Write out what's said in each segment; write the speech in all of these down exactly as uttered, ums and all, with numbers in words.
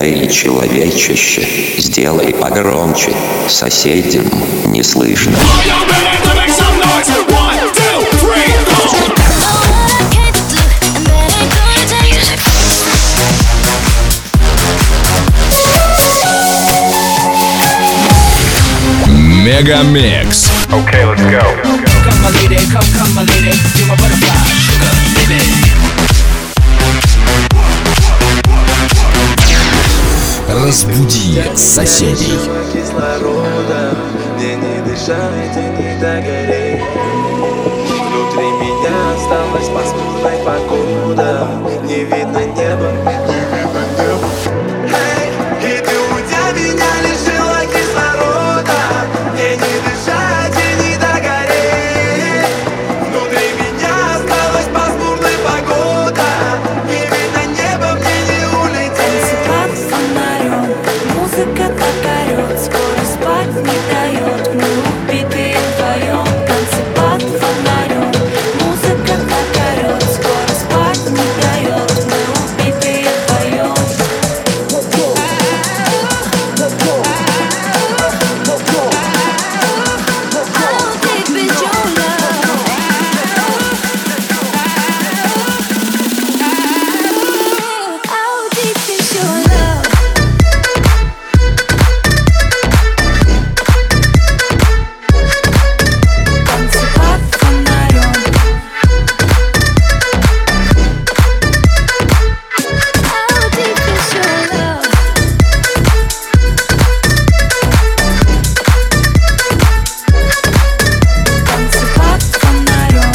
Эй, человечище, сделай погромче, соседям не слышно. Мегамикс. Okay, let's go. Come my lady, come, come my lady, you're my butterfly, sugar, baby. Разбуди соседей. Кислорода, мне не дышать и не догореть. Внутри меня осталась пасмурная погода. Не видно неба, не видно неба. Эй, и ты уйдя меня лишила кислорода. Мне не дышать и не догореть. Внутри меня осталась пасмурная погода. Не видно неба, мне не улететь. Танцы под фонарем, музыка так орет, скоро спать не дает, мы убитые вдвоем. Танцы под фонарем, музыка так орет, скоро спать не дает, мы убитые вдвоем. How deep is your love? How deep is your love? Танцы под фонарем. How deep is your love? Танцы под фонарем.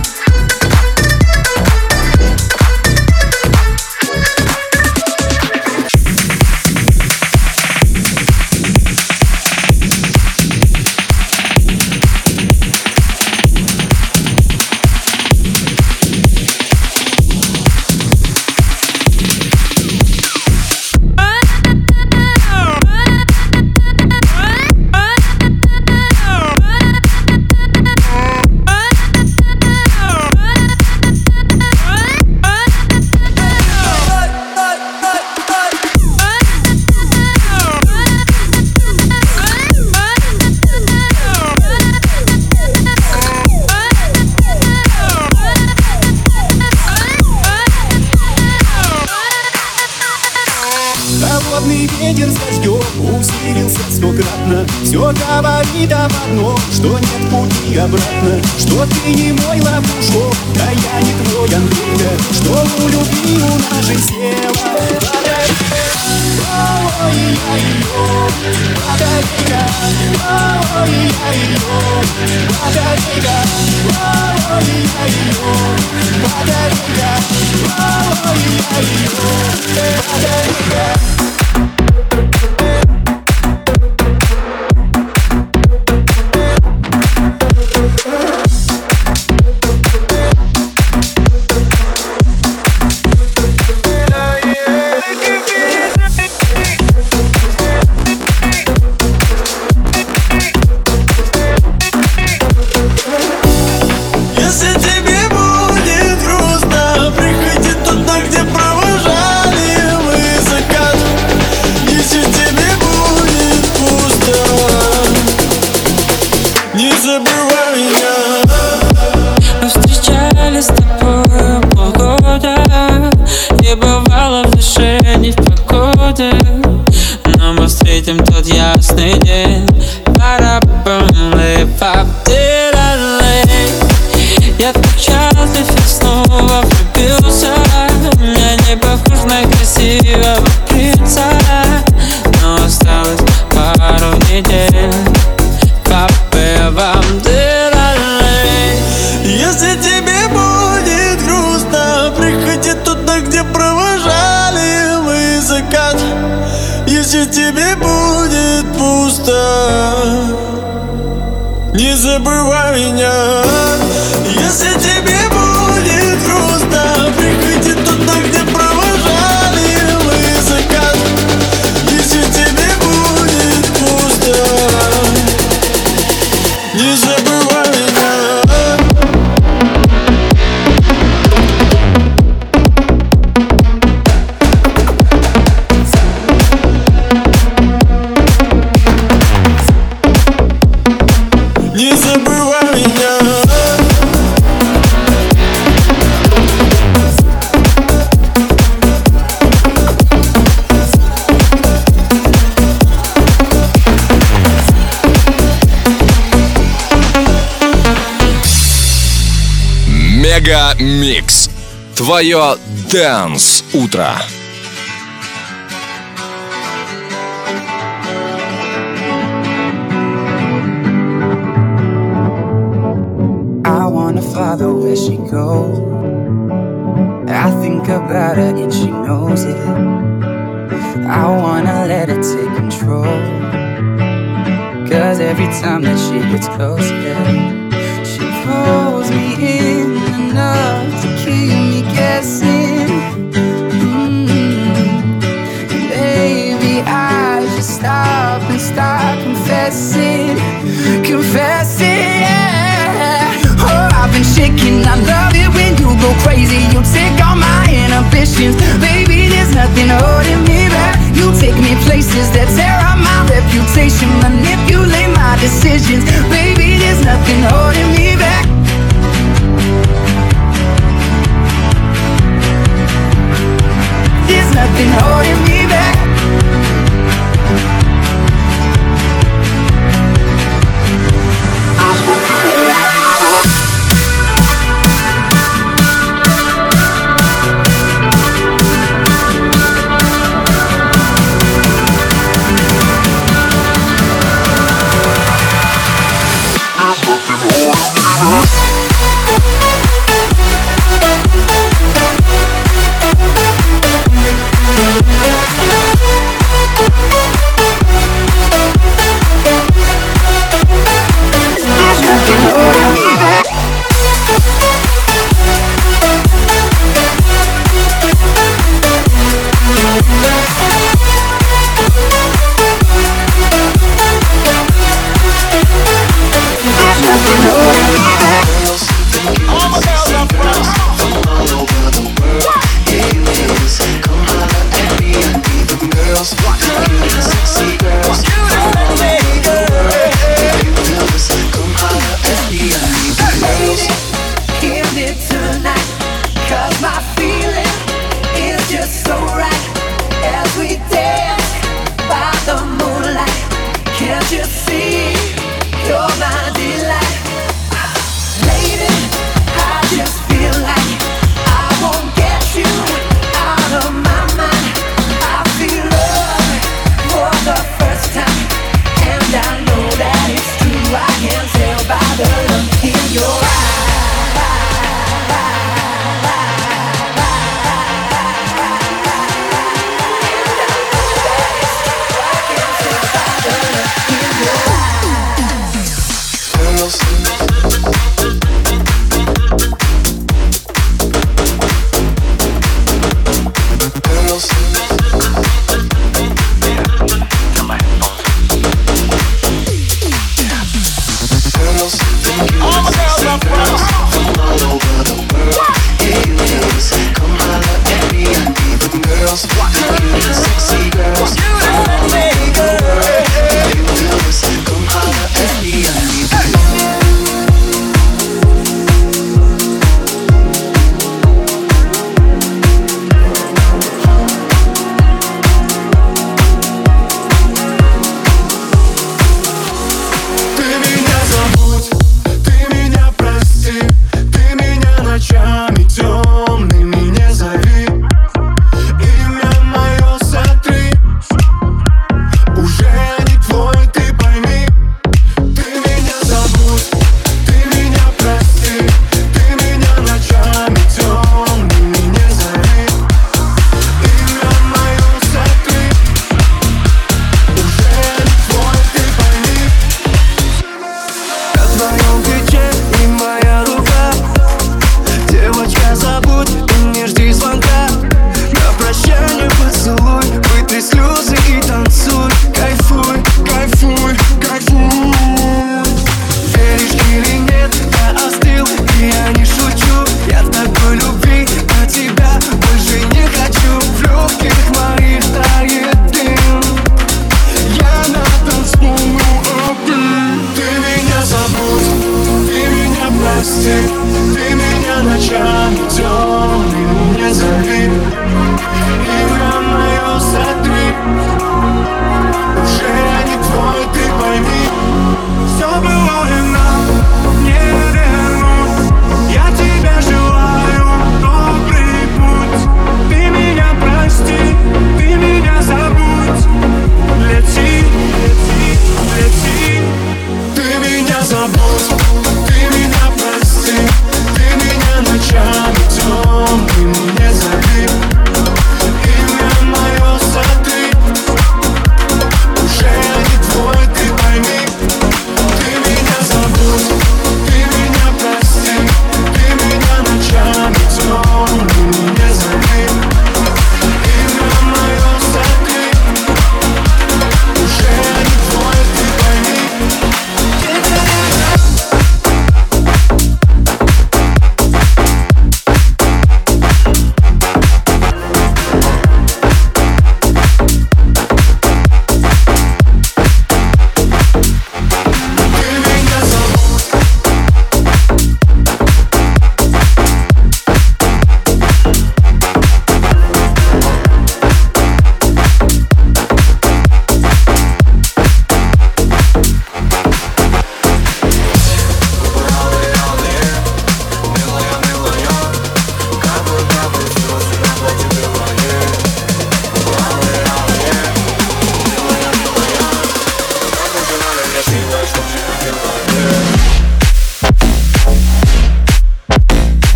Холодный ветер с дождем усилился стократно. Все говорит об одном, что нет пути обратно. Что ты не мой лопушок, да я не твой Андрейка. Что у любви у нашей села батарейка. Ой-ой-ой-ой, батарейка. Ой-ой-ой-ой, батарейка. Ой-ой-ой-ой, батарейка. Ой-ой-ой-ой, батарейка. Если тебе будет грустно, приходи туда, где провожали мы закат. Если тебе будет пусто, не забывай меня. Мы встречались с тобой полгода. Не бывало в душе ни в погоде, но мы встретим тот ясный день. Я так счастлив и снова влюбился. Я не похож на красивого принца, но осталось пару недель. Папе, вам дырали. Если тебе будет грустно, приходи туда, где провожали мы закат. Если тебе будет пусто, не забывай меня. Если тебе будет грустно, приходи туда, где провожали мы закат. Если тебе будет пусто, не забывай меня. Мегамикс. Твое Dance утро. I wanna follow where she goes. I think about her and she knows it. I wanna let her take control. Cause every time that she gets close, yeah, she pulls me in enough to keep me guessing. mm-hmm. Baby, I just stop and start confessing. Confessing, yeah. Oh, I've been shaking, I love it when you go crazy. You take all my inhibitions. Baby, there's nothing holding me back. You take me places that tear up my reputation, manipulate my decisions. Baby, there's nothing holding me back. There's nothing holding me back. First time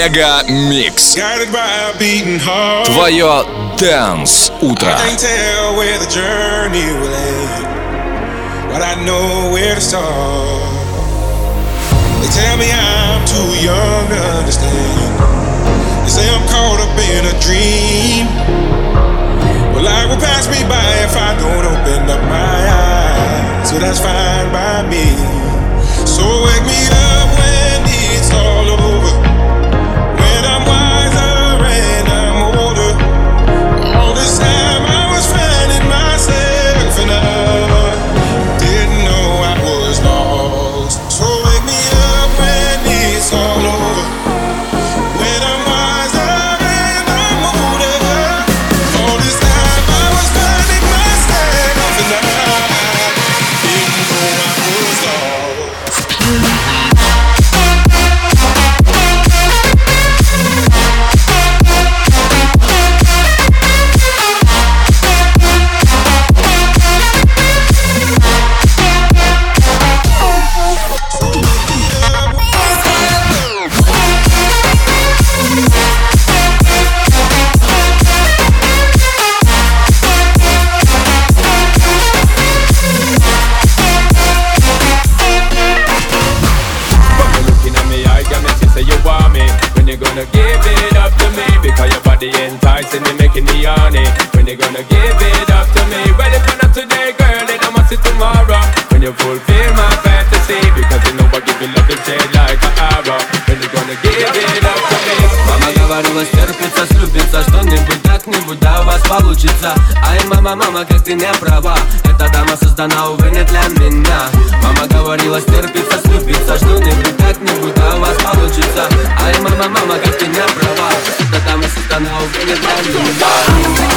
Мега Микс. Твое Dance утро. But I know where to start. They tell me I'm too young to understand. They say I'm caught up in a dream. Well, life will pass me by if I don't open up my eyes. So that's fine by me. So wake me up when it's all over. When I'm wiser and I'm older. All this time I was finding myself and I all over. When I'm wiser and I'm older. All this time I was finding myself and I didn't know I was lost. Enticing me, making me horny. When you gonna give it up to me? Well, if you're not today, girl, then I must see tomorrow. When you fulfill my fantasy, because you know I give you love to shade like an arrow. When you gonna give it up to me? Мама говорила, стерпится, слюбится, что-нибудь как-нибудь, да у вас получится. Ай, мама, мама, как ты не права. Эта дама создана, увы, не для меня. Мама говорила, стерпится, слюбится, что-нибудь как-нибудь, да у вас получится. Ай, мама, мама, как ты не права. Эта дама создана, увы, не для меня.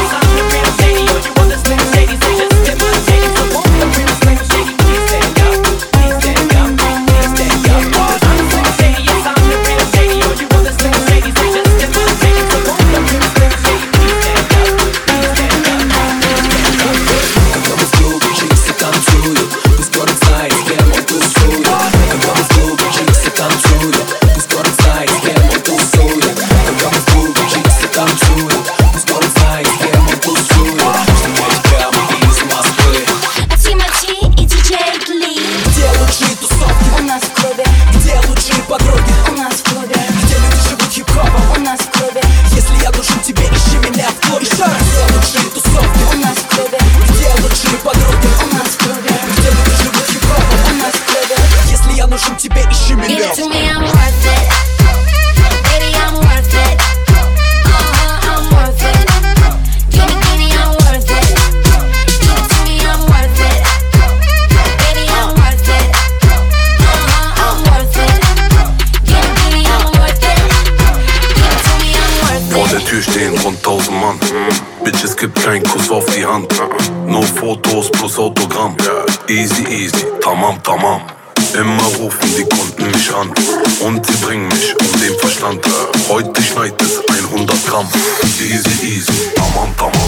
Kein Kuss auf die Hand, nur Fotos plus Autogramm. Easy, easy, tamam, tamam. Immer rufen die Kunden mich an und sie bringen mich um den Verstand. Heute schneit es hundert Gramm. Easy, easy, tamam, tamam.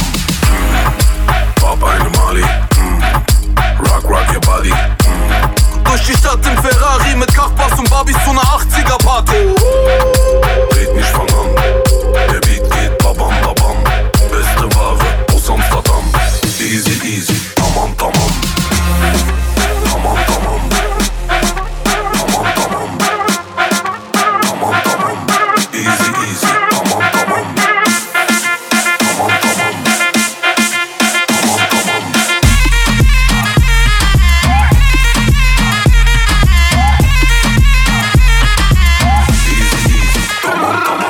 Mm. Fahr bei einem Mali, mm. Rock, rock your body. Mm. Durch die Stadt im Ferrari mit Kachbass und Barbies zu einer achtziger Party. Red mich fang an, der Beat geht babam, babam. Beste Ware aus Amsterdam. Easy, easy, tamam, tamam. Tamam, tamam. Tamam, tamam. Tamam, tamam. Easy, easy, tamam, tamam. Tamam, tamam. Tamam, tamam. Easy, easy, tamam, tamam.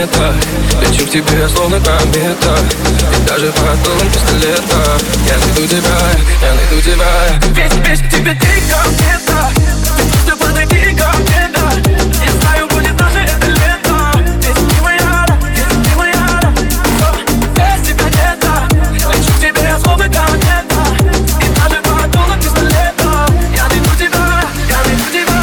планета. Лечу к тебе, словно комета, и даже под дулом пистолета. Я найду тебя, я найду тебя. Весь, весь тебе ты комета. Ты просто подойди ко мне, да. Я знаю, будет наше это лето. Ведь ты моя, ведь ты моя. Без тебя лето. Лечу к тебе, словно комета, и даже под дулом пистолета. Я найду тебя, я найду тебя.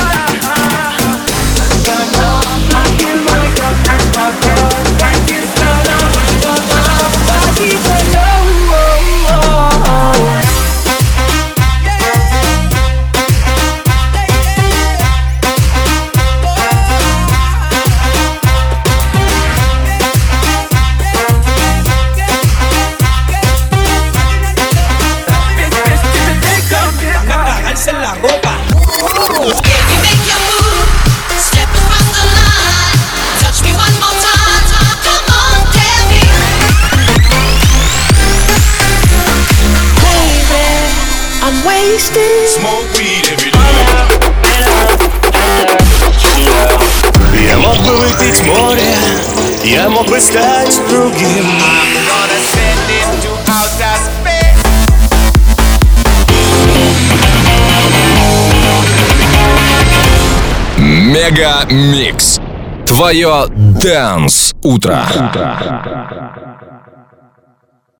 Smoke weed every day. Я мог бы выпить море, я мог бы стать другим. Мега Микс. Твое Dance утро.